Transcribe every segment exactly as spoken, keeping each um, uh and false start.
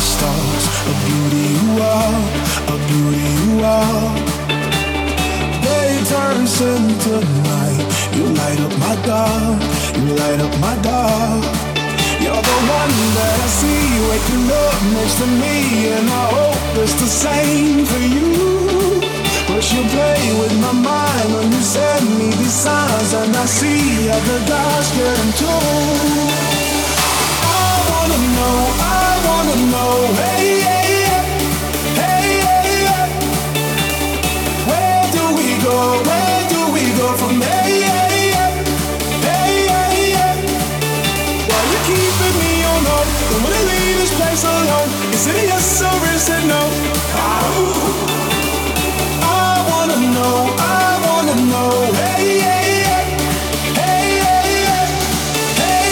stars. A beauty you are, a beauty you are. Day turns into night. You light up my dark, you light up my dark. You're the one that I see waking up next to me, and I hope it's the same for you. But you play with my mind when you send me these signs, and I see other guys getting too. I wanna know, I wanna know, hey, hey, hey, hey, hey. Where do we go, where do we go from hey, hey, hey, hey, hey, hey. Why you keeping me on hold? Don't wanna leave this place alone. Is it a yes or is it no? Oh. I wanna know, I wanna know, hey, hey, hey, hey, hey, hey,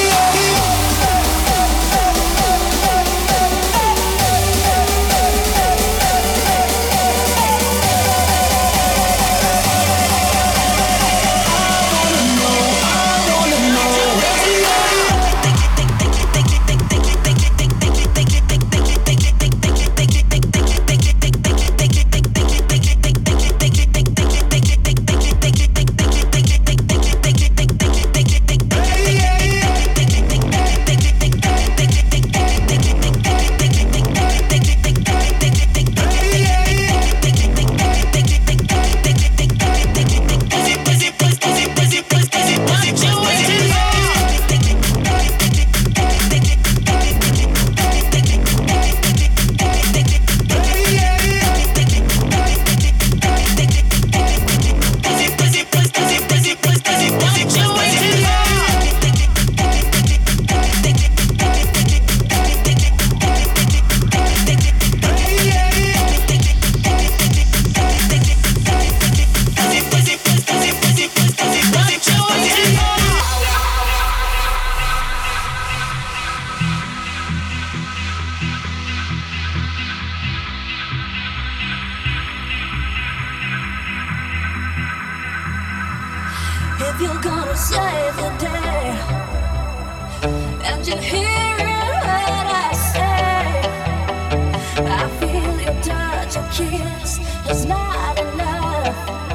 If you're gonna save the day, and you hear what I say, I feel your touch, your kiss is not enough.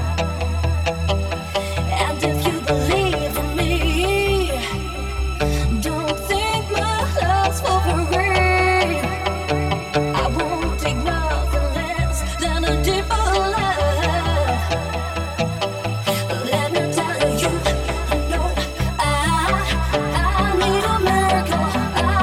And if you believe in me, don't think my love's for free. I won't take nothing less than a deeper love. Let me tell you, I know I, I need a miracle. I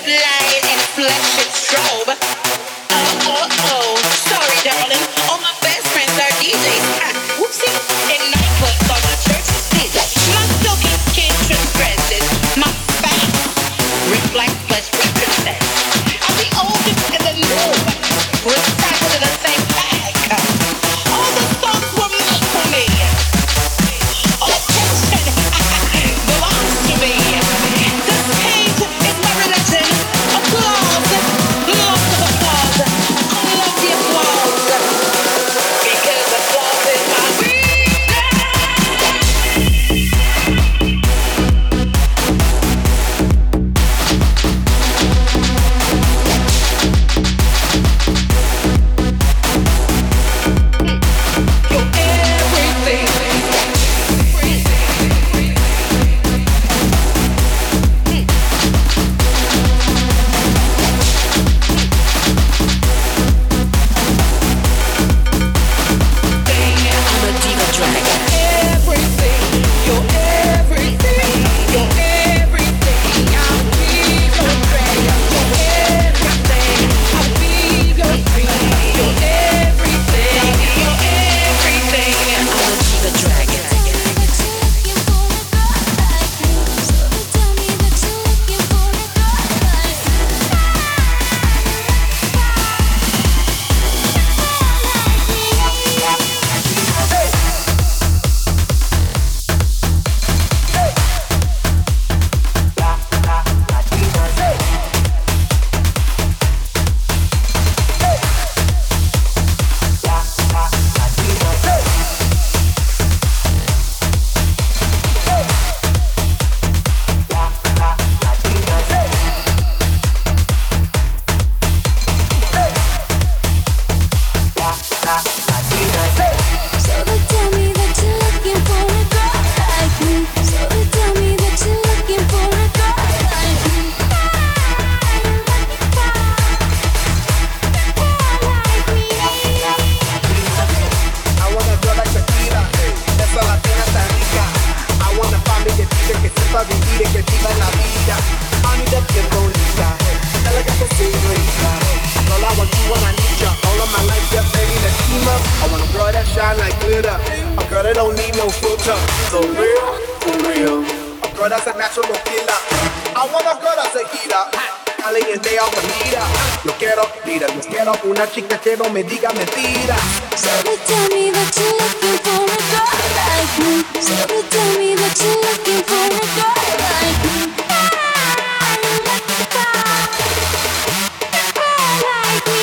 light and flesh and strobe. Oh, oh, oh, sorry, darling. All my best friends are D Js. Ah, whoopsie. In nightclubs on the church stage. My silky kitchen dresses, my face reflects flesh represents. I'm the oldest in the new, recycled in the same bag. All the songs were made for me. All attention belongs to me. The stage is my religion. Applause, lots of applause. I love the applause because applause is my religion. Una chica que no me diga mentira. So they tell me that you're looking for a girl like me. So they tell me that you're looking for a girl like me. I'm looking for a girl like me.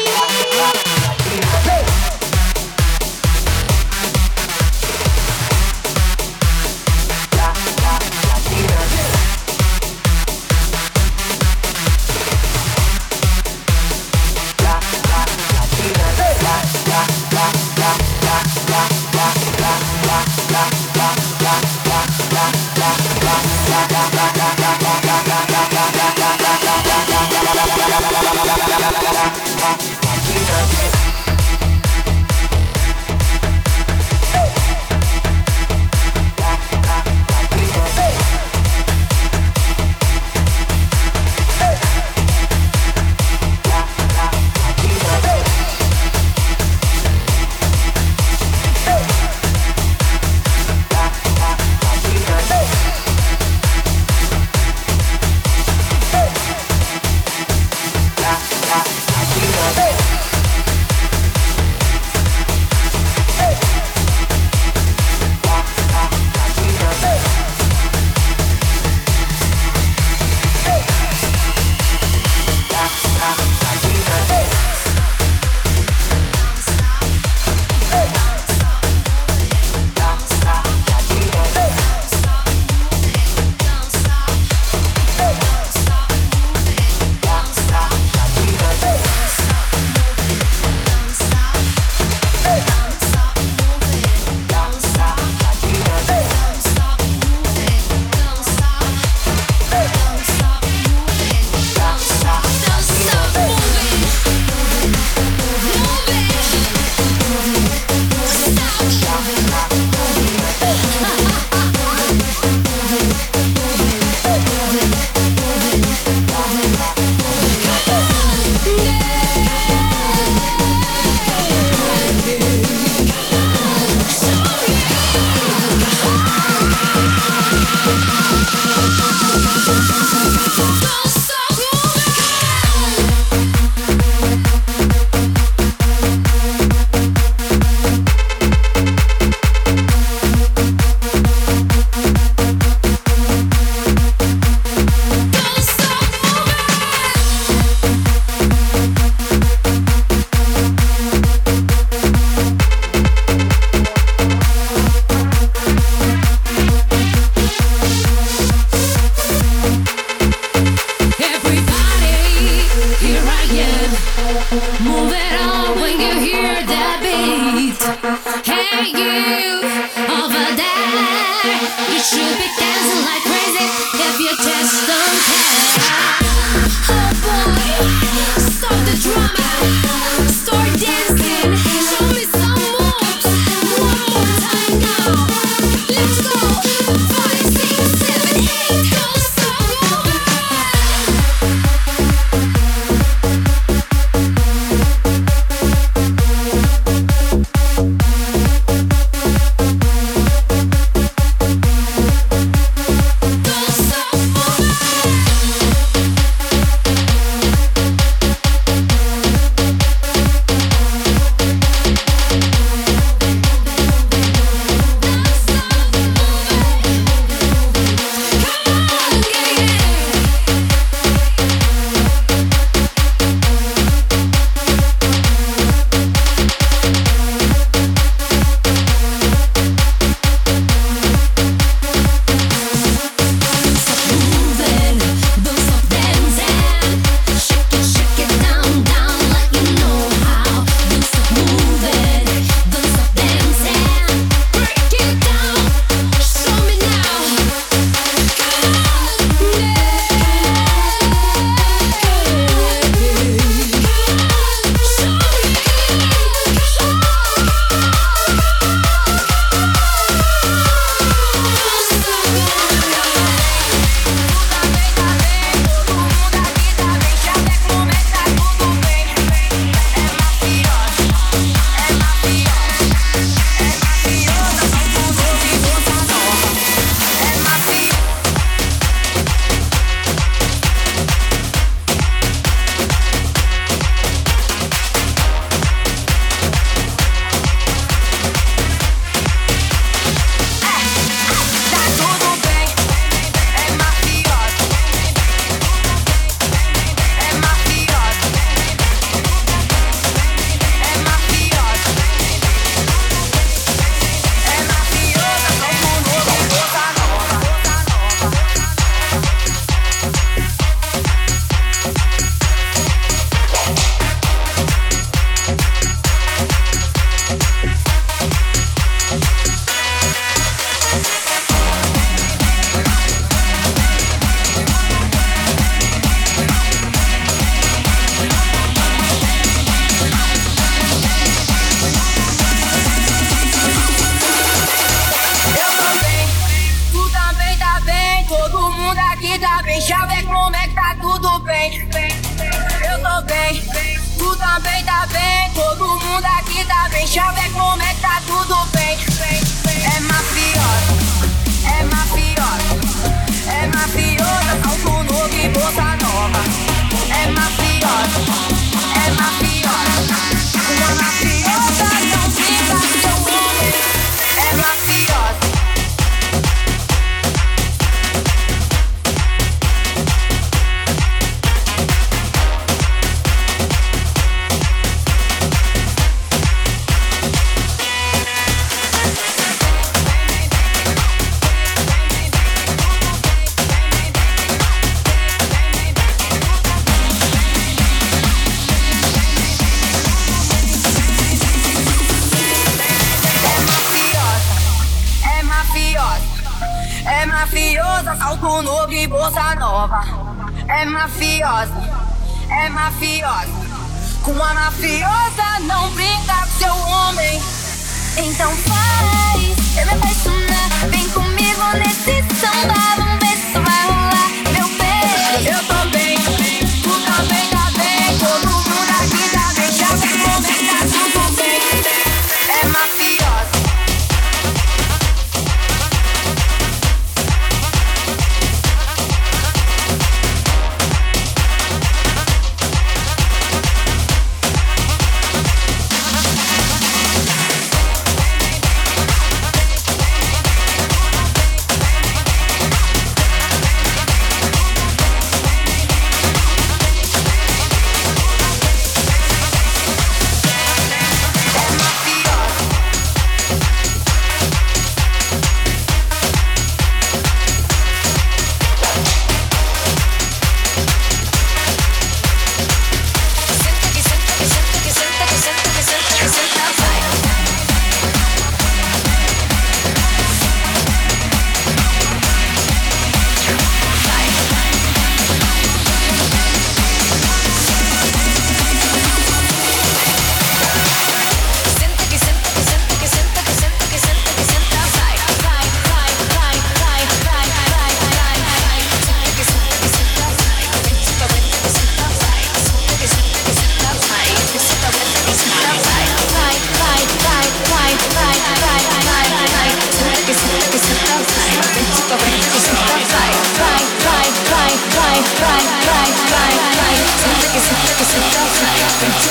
Hey!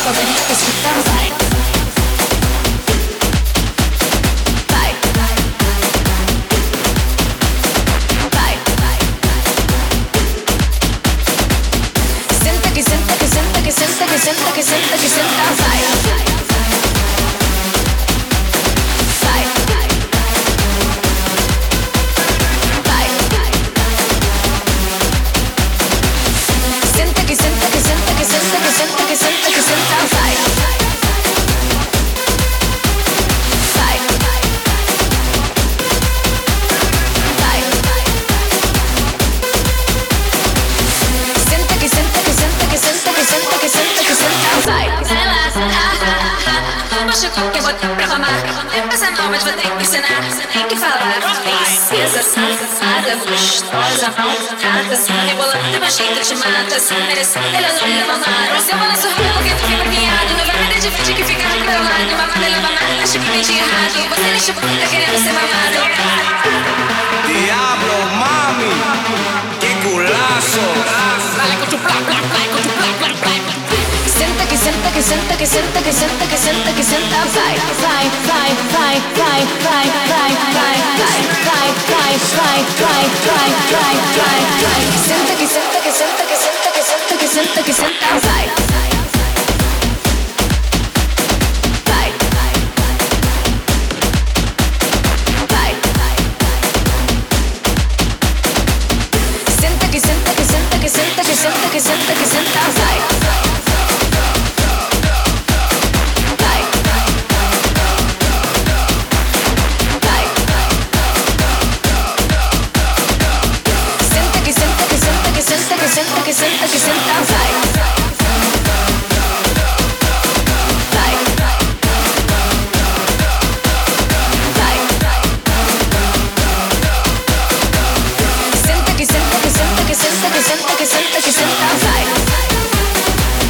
Senta que senta que senta que senta que senta que senta, vai.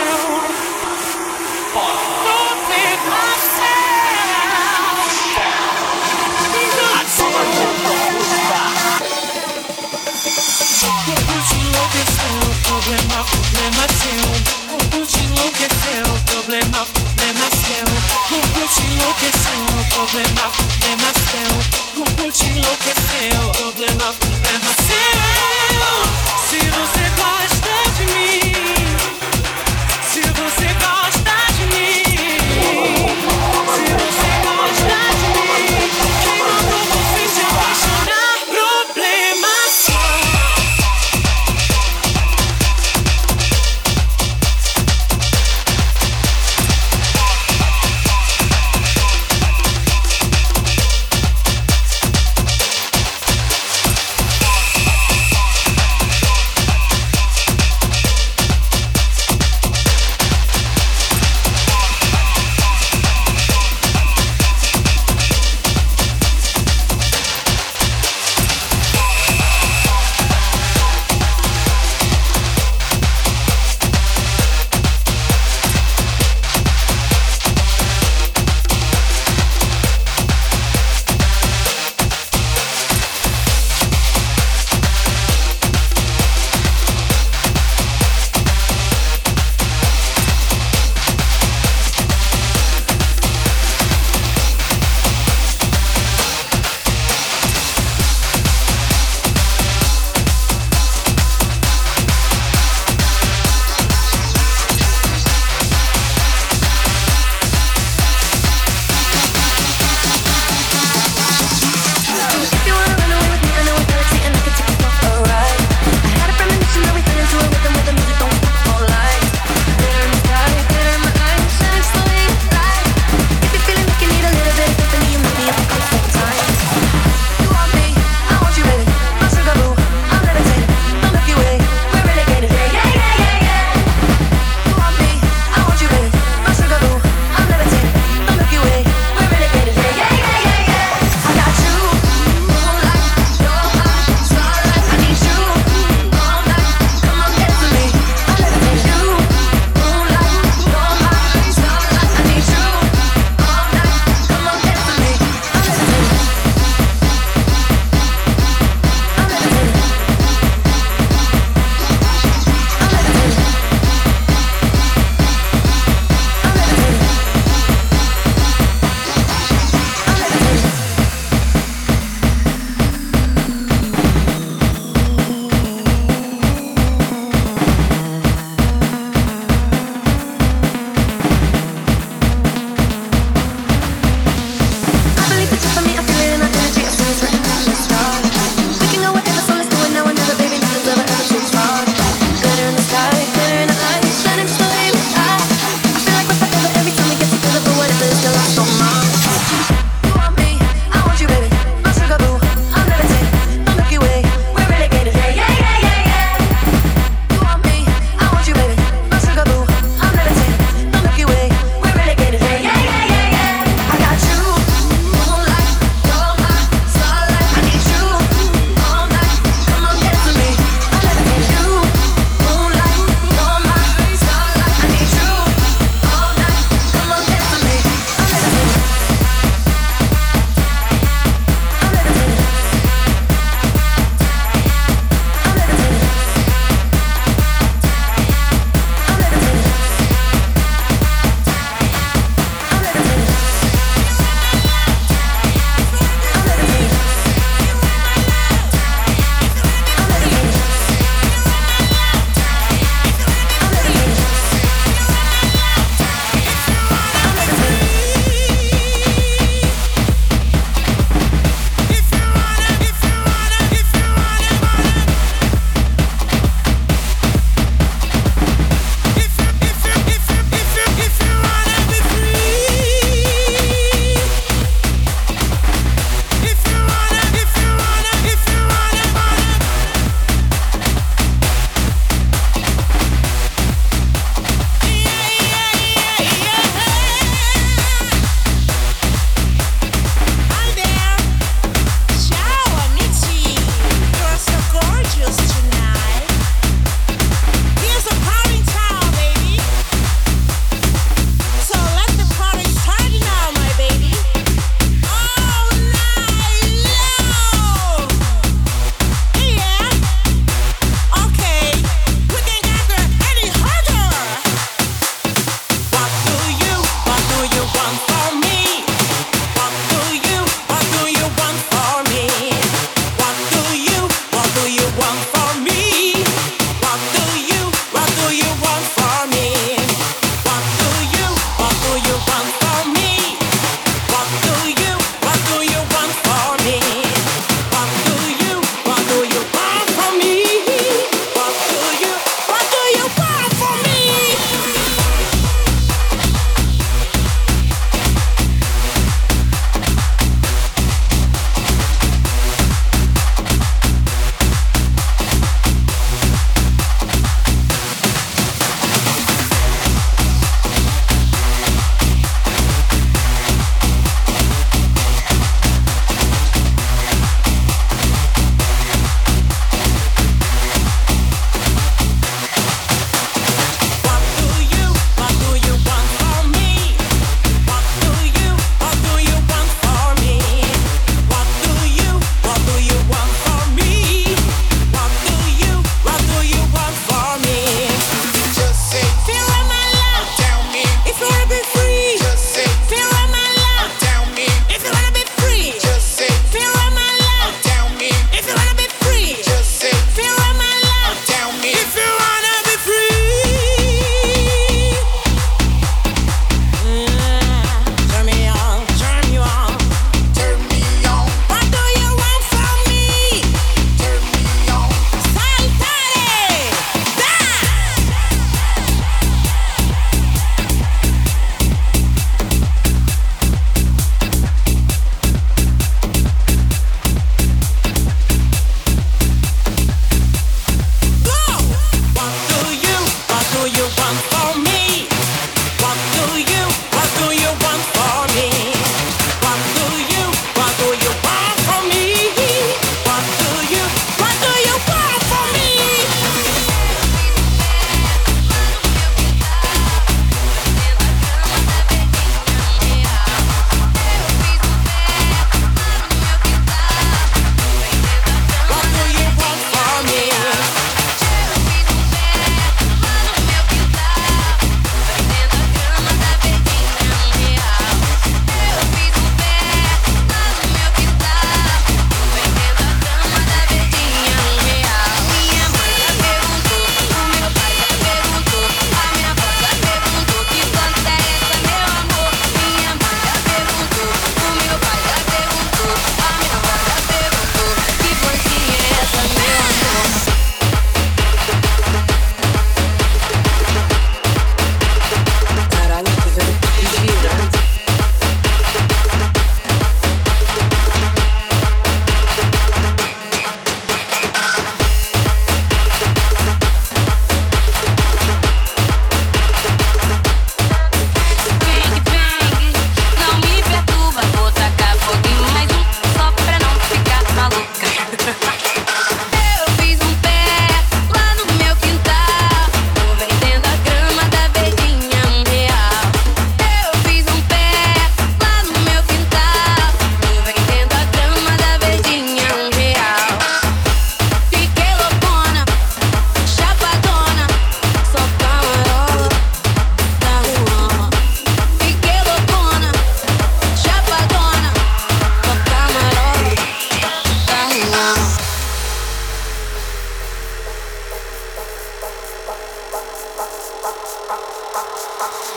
Problema, problema seu. O que te enlouqueceu? Problema, problema seu. O que te enlouqueceu? Problema, problema seu. O que te enlouqueceu? Problema, problema seu. Se você gosta de mim, se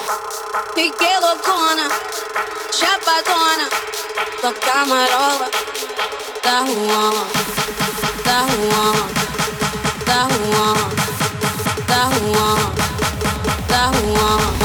Fiquei loucona, chapadona, toca marola, da rua, da rua, da rua, da rua, da rua.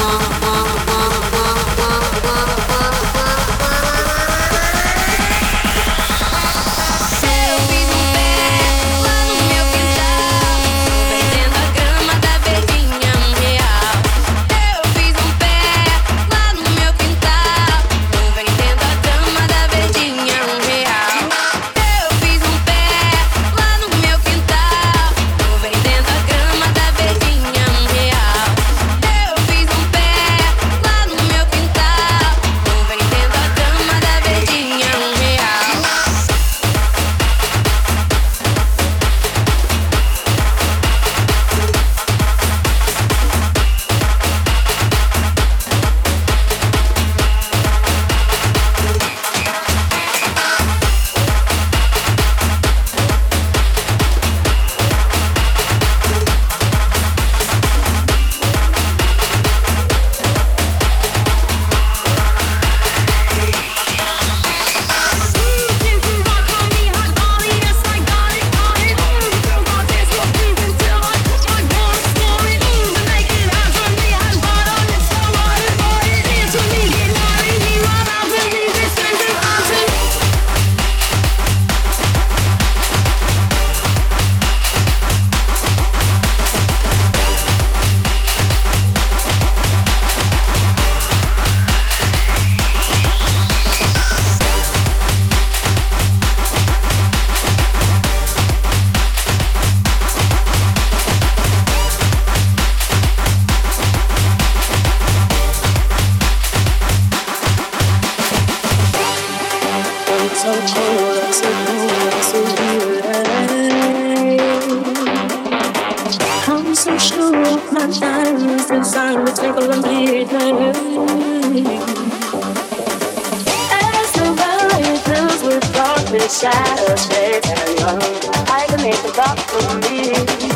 Shadows fade and young. I can make the rock for me.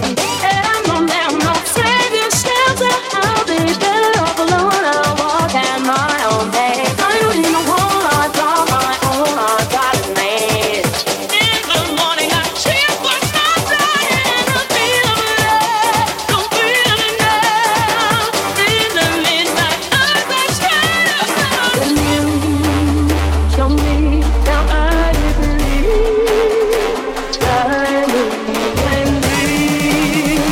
And no man, no savior, shelter. I'll be better off alone. I'll walk at my own pace. I don't need no one. I draw my own. I got it made. In the morning, I cheer for sunshine. I feel love, don't feel enough. In the midnight, eyes are shadows. And you show me now I believe.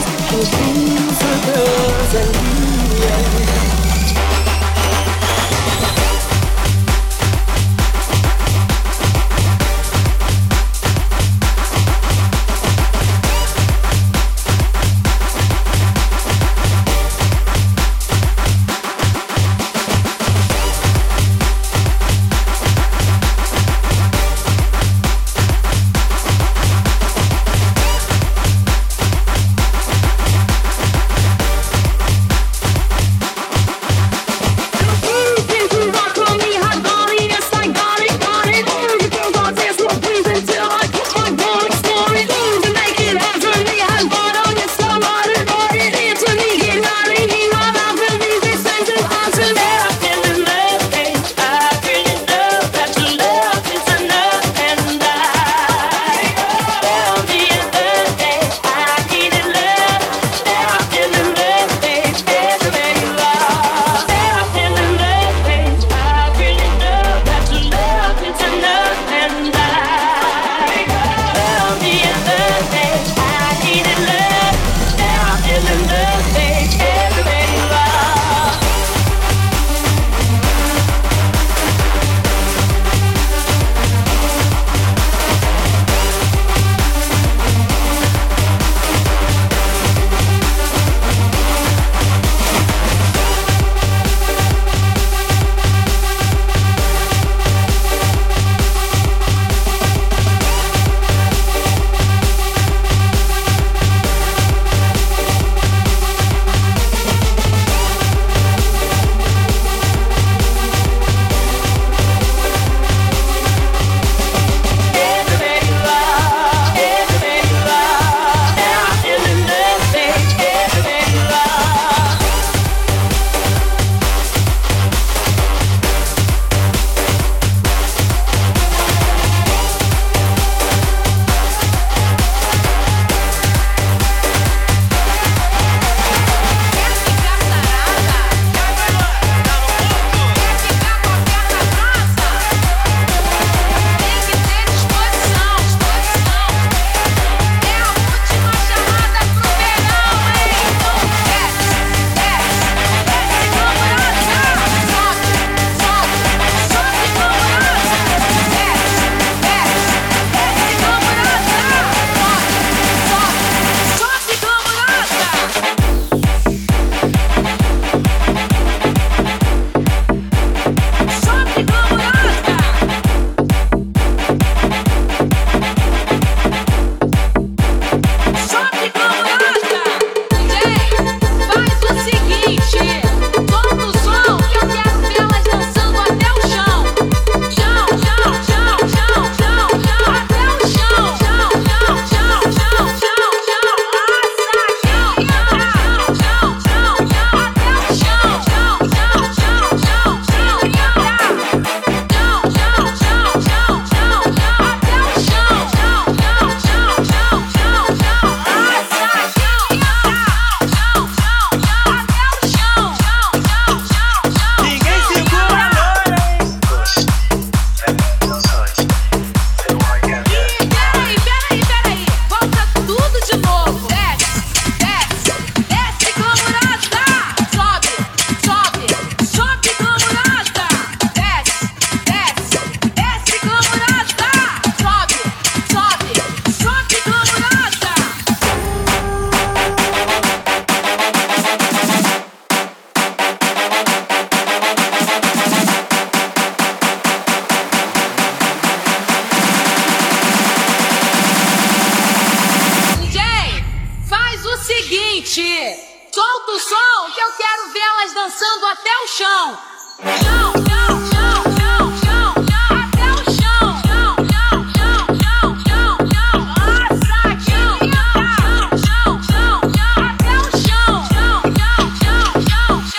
chão. Chão, chão, chão, chão, chão, chão, até o chão. Chão, chão, chão, chão, chão, chão, nossa, chão, chão, chão, chão, chão, até o chão. Chão, chão, chão, chão, chão,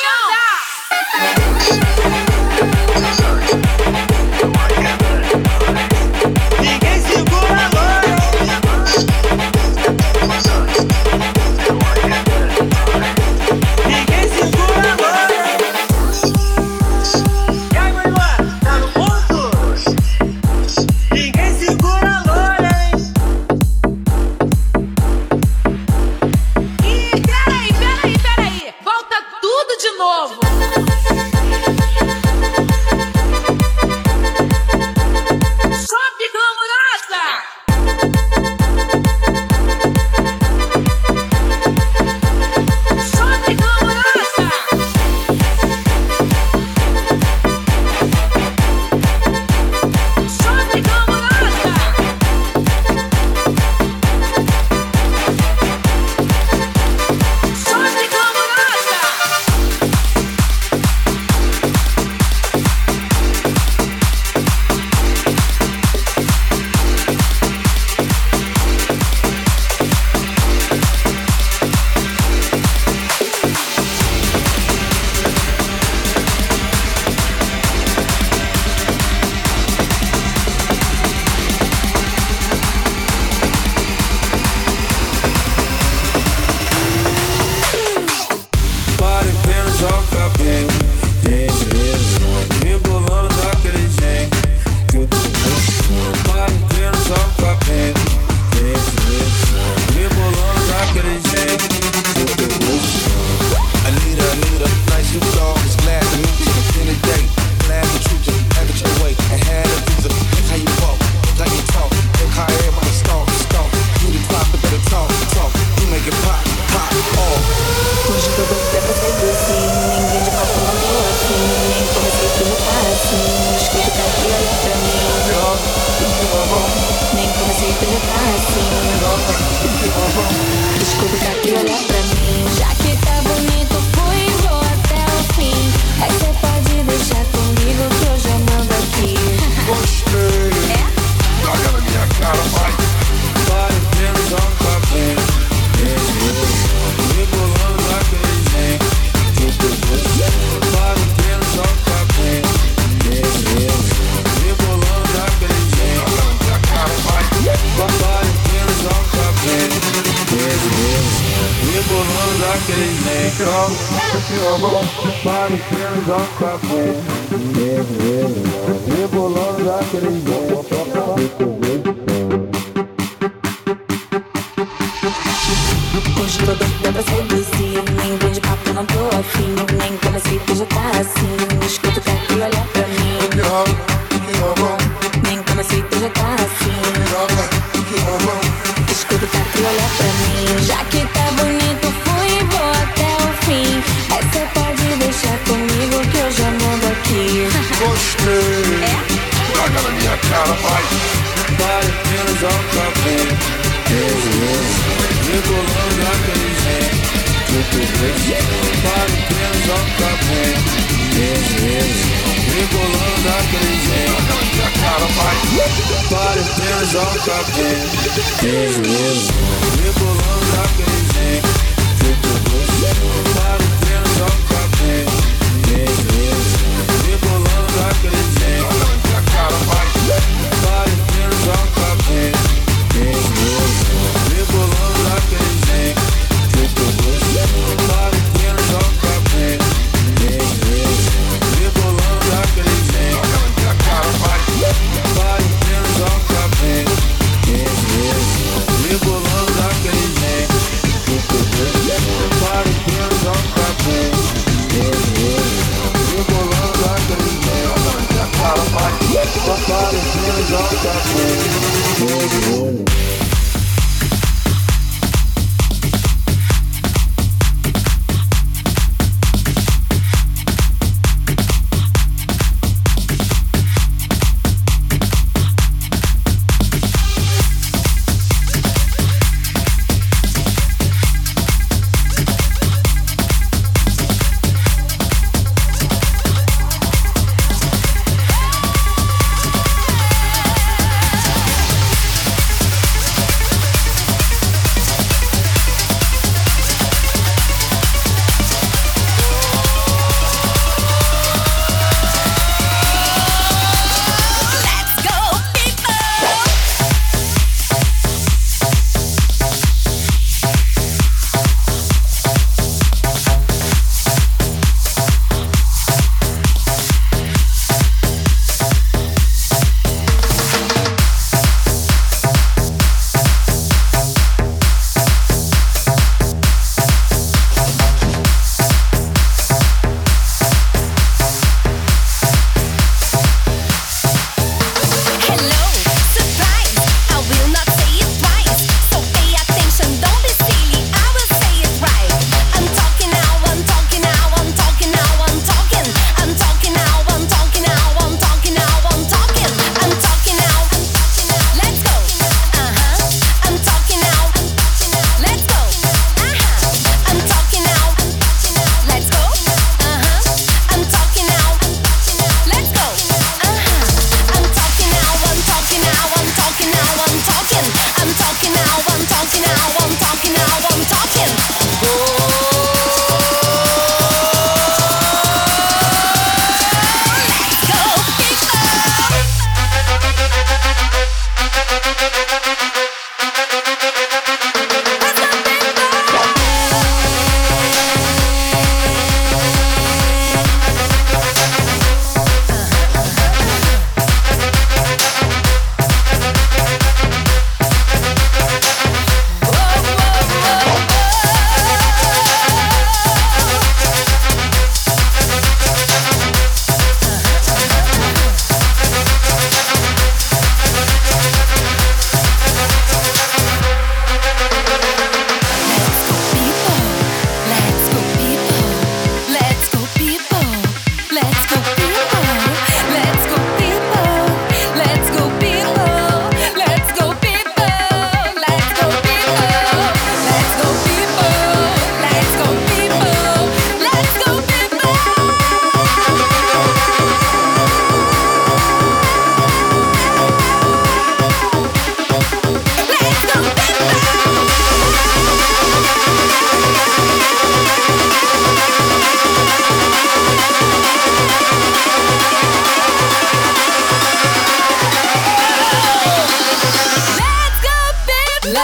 chão. Ninguém segura agora. Ninguém segura agora. E aí, meu irmão, tá no ponto? Ninguém segura agora, hein? Ih, peraí, peraí, peraí. Volta tudo de novo. Sobe, camarada! Sobe, camarada! Sobe, camarada! Sobe, camarada! Para apenas só cabelo, rebolando daquele jeito que eu tô gostando. Para apenas só cabelo, rebolando daquele jeito que eu tô gostando. Anita, Anita, nice you dog. It's glad to meet you. It's been a day. Glad to treat you. Have it your way. And had a visa. Look how you walk. Look how you talk. Look how everybody stalk, stalk. You the clock, but better talk, talk. You make it pop, pop, off. Hoje tô doida pra sair assim. Ninguém de papo não tô aqui. Nem comecei tudo assim. Escuta pra aqui, olha pra mim. Nem comecei tudo assim. Escuta pra aqui, olha pra mim. Já que tá bonito, fui e vou até o fim. Mas cê pode deixar comigo que eu já mando aqui. Gostei. É? Joga na minha cara, vai. Para apenas só cabelo, rebolando daquele jeito que eu tô gostando. Para apenas só cabelo, rebolando daquele jeito que eu tô gostando. Para apenas só cabelo, rebolando daquele jeito. Para apenas só cabelo, rebolando daquele jeito. Hoje tô doida pra sair desse. Nem vem de papo, não tô afim. Nem comecei, tu já tá assim. Escuta pra aqui, olha pra mim. Nem comecei, tu já tá assim. Escuta pra aqui, olha pra mim. Já que tá bonito, fui e vou até o fim. Mas cê pode deixar comigo que eu já mando aqui. Gostei. É? Joga na minha cara, vai. Para apenas só cabelo, rebolando daquele jeito que eu tô gostando. Para apenas só cabelo, rebolando daquele jeito que eu tô gostando. Para apenas só cabelo, rebolando daquele jeito que eu tô gostando. Para apenas só cabelo, rebolando daquele jeito que eu tô gostando. Para apenas só cabelo, rebolando daquele jeito que eu tô gostando. Para apenas só cabelo, rebolando daquele jeito que eu tô gostando. Para apenas só cabelo, rebolando daquele jeito que eu tô gostando. Para apenas só cabelo, rebolando daquele jeito que eu tô gostando. Para apenas só cabelo.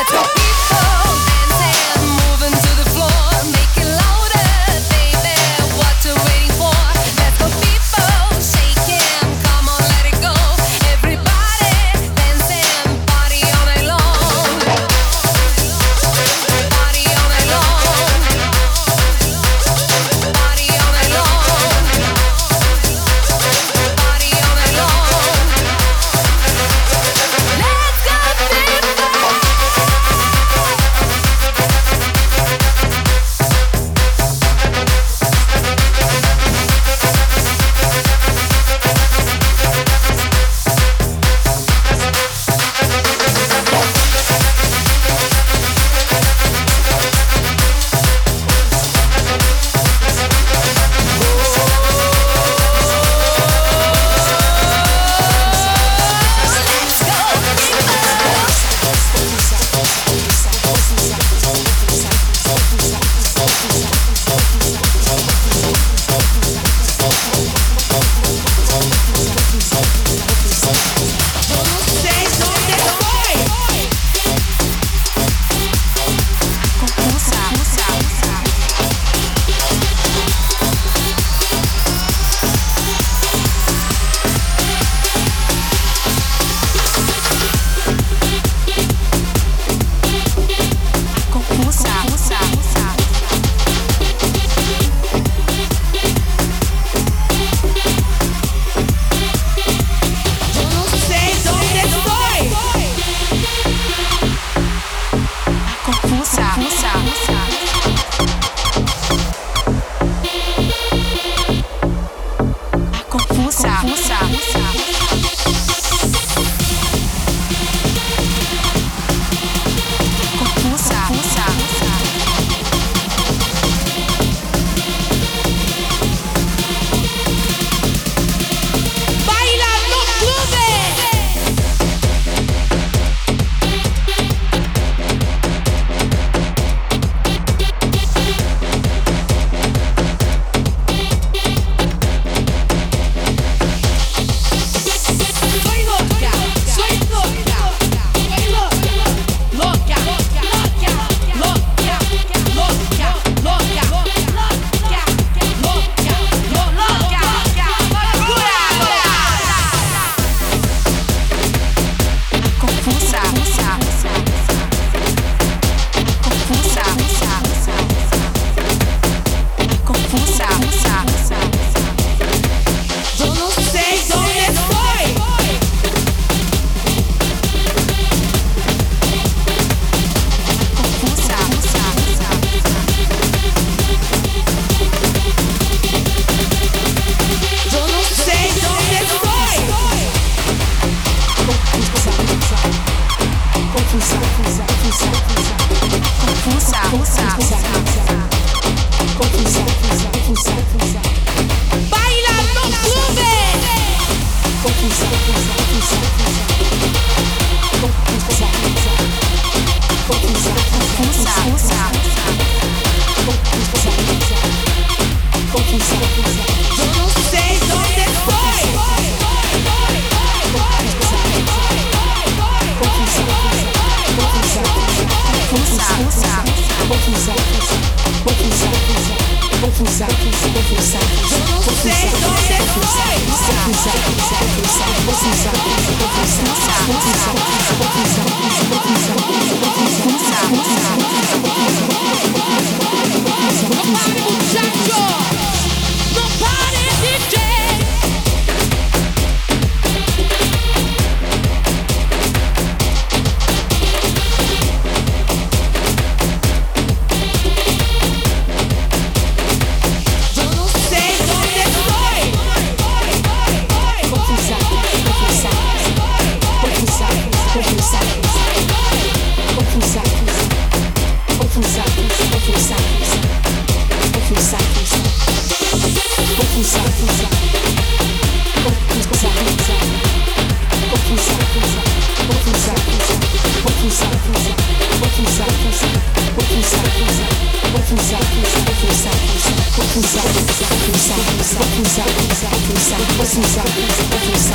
What's inside?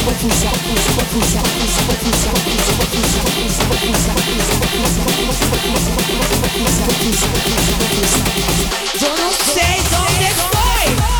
Eu não sei onde foi.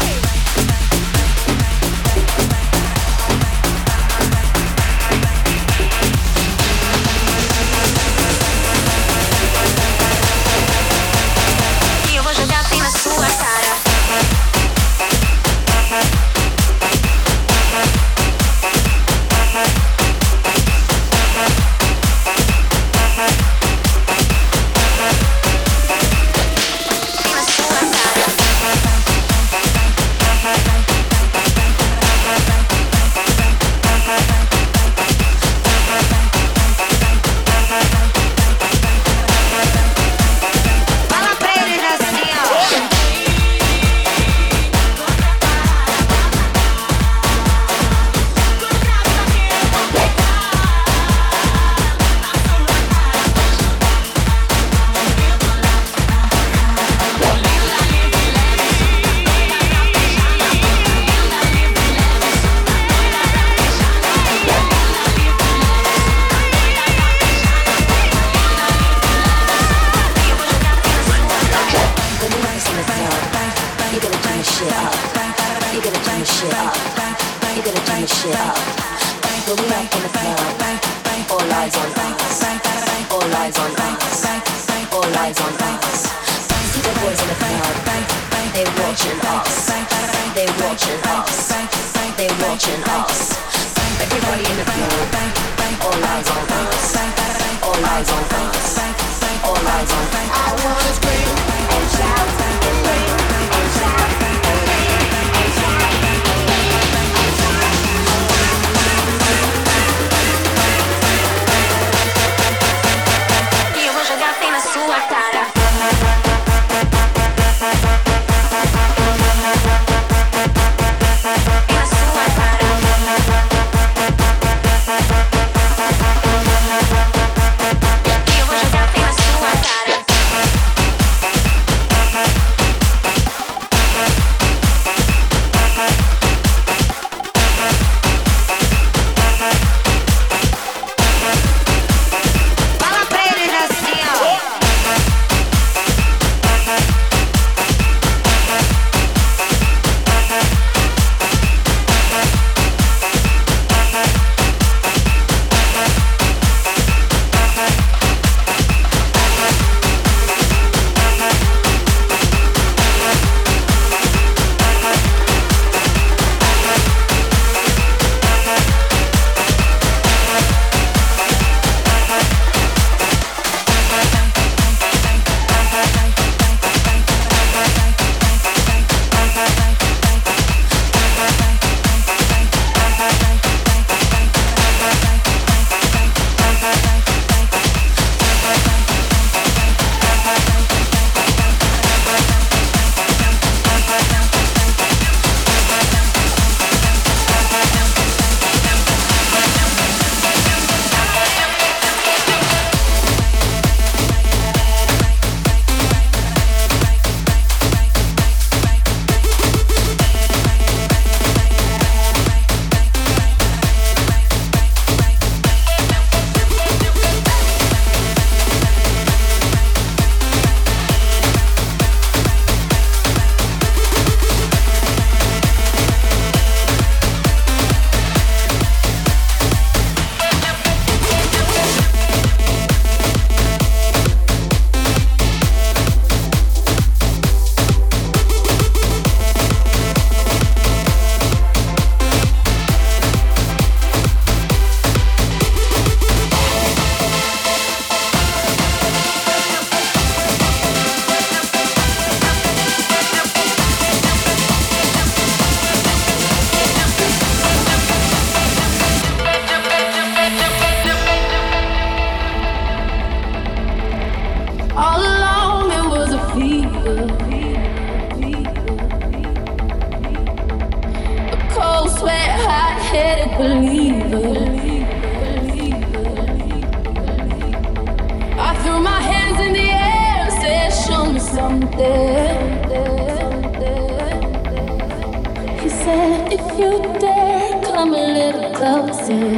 She said, if you dare, come a little closer.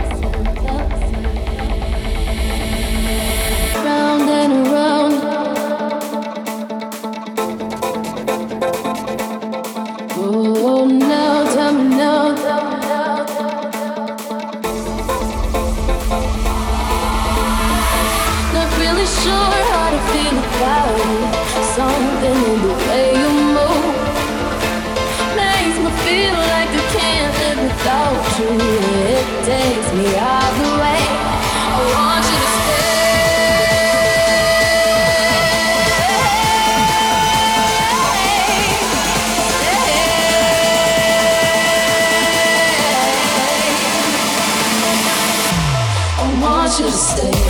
Round and around. Oh, now, tell me now, tell me now. Not really sure how to feel about it. Something in the way you move makes me feel like I can't live without you. It takes me all the way. I want you to stay. I want you to stay.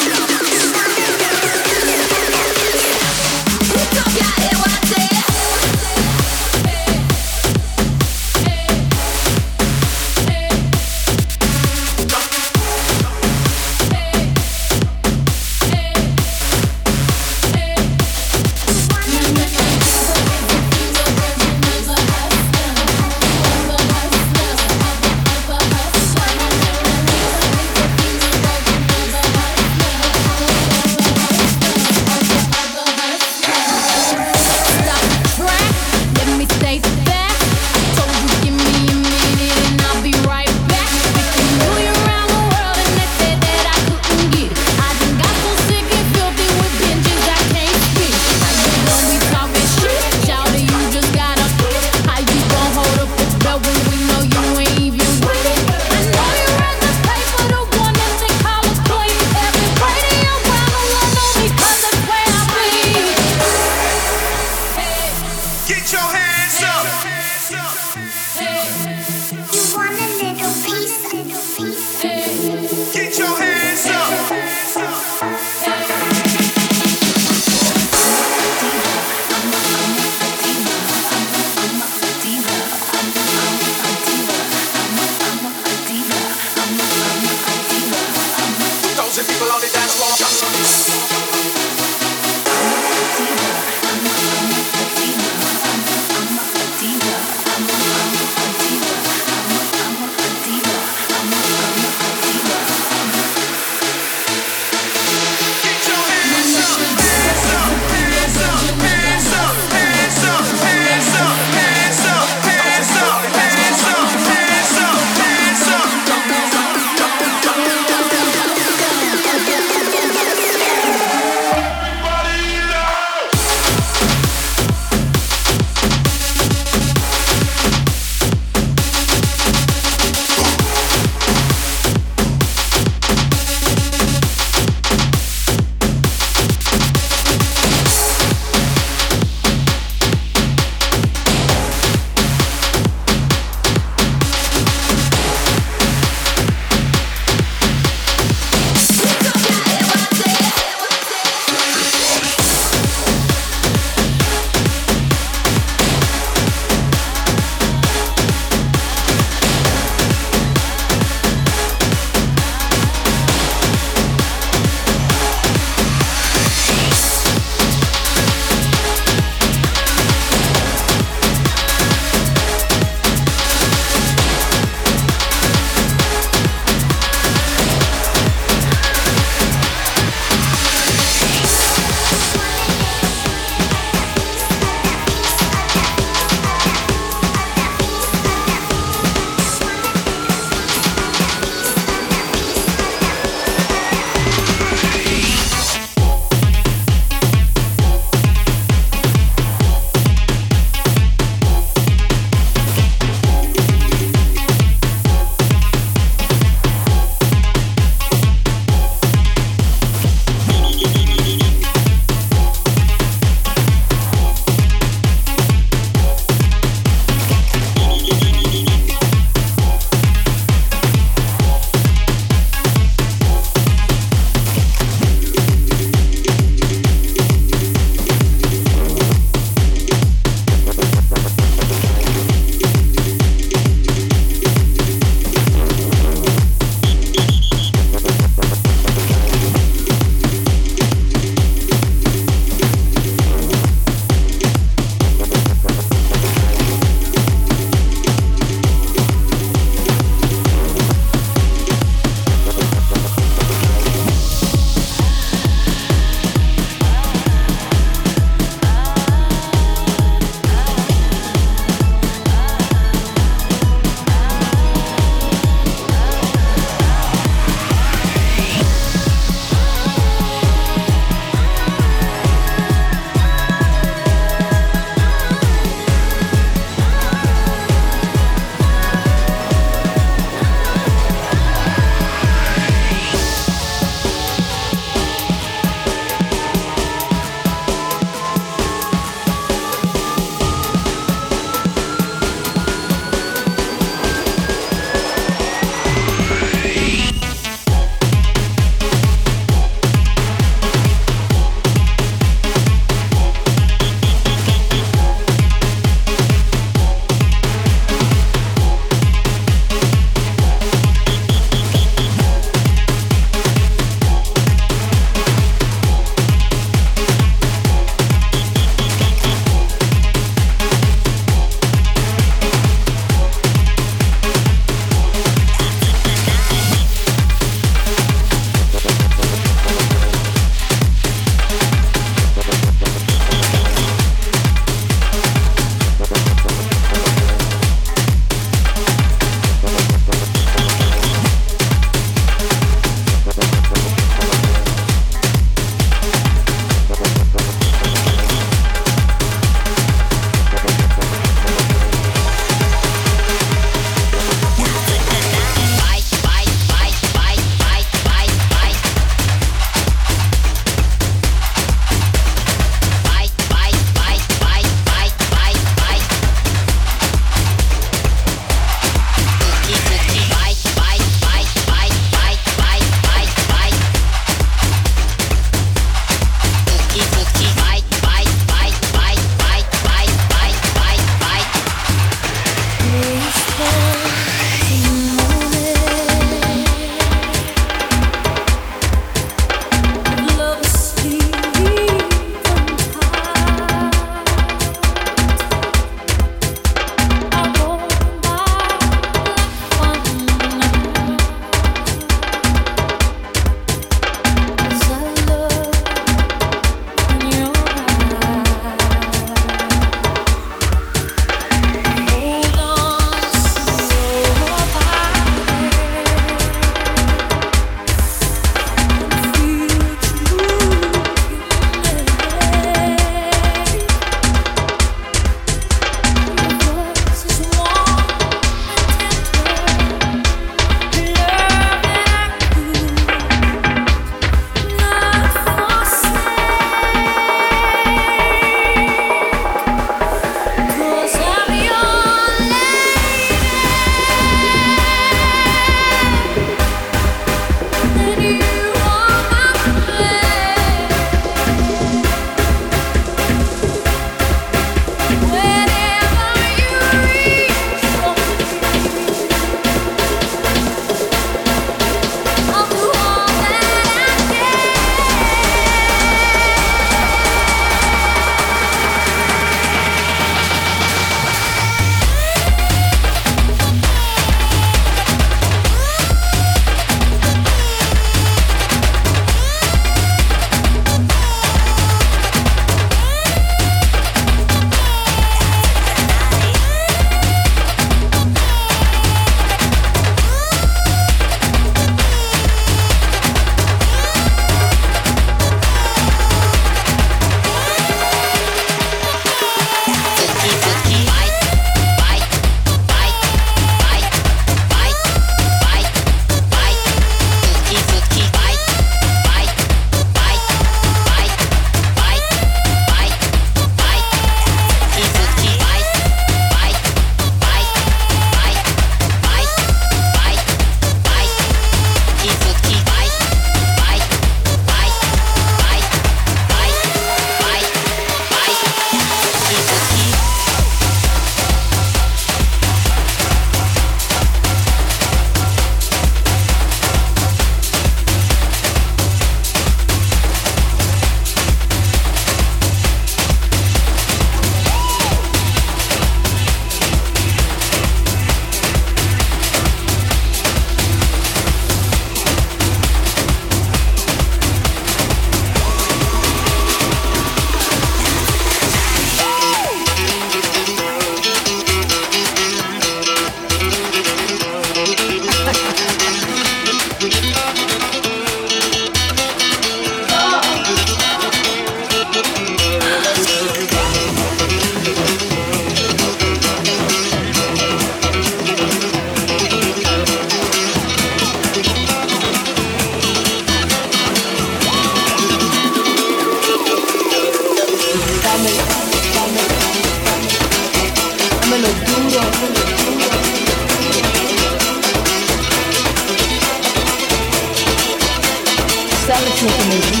lo que me gusta.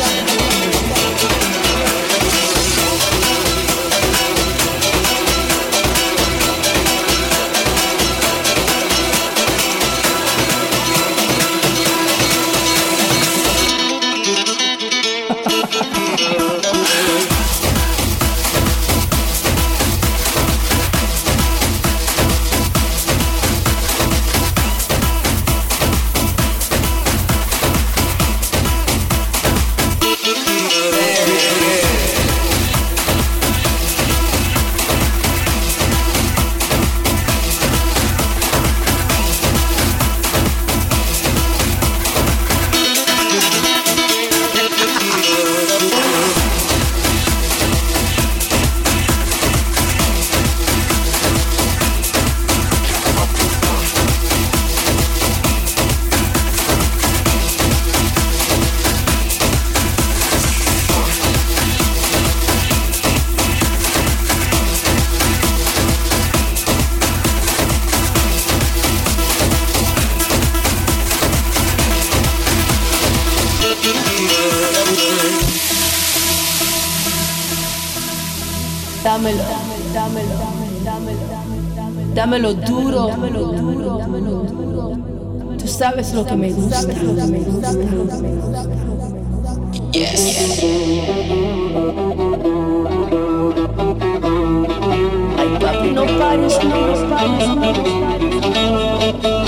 Dámelo, dámelo, dámelo, dámelo duro, dámelo duro, dámelo duro. Tú sabes lo que me gusta, lo que me gusta, lo que me gusta. Yes. Ay, papi, no pares, no pares, no pares.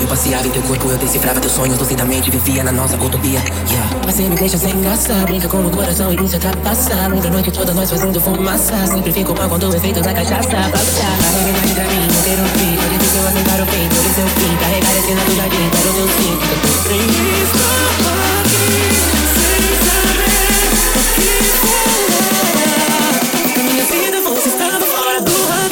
passeava em teu corpo, eu decifrava teus sonhos lucidamente, vivia na nossa utopia. Yeah. Você me deixa sem graça, brinca com o coração e me já passar. Muita noite toda nós fazendo fumaça. Sempre fico mal quando o efeito da cachaça passa. A realidade pra mim, não quero fim. É difícil aceitar o fim, por isso eu fim. Carregar a cena do jardim, quero meu sim. Sem estar aqui, sem saber o que falar. Na minha vida você estava fora do radar.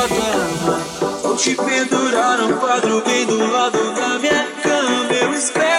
Te pendurar um quadro bem do lado da minha cama. Eu espero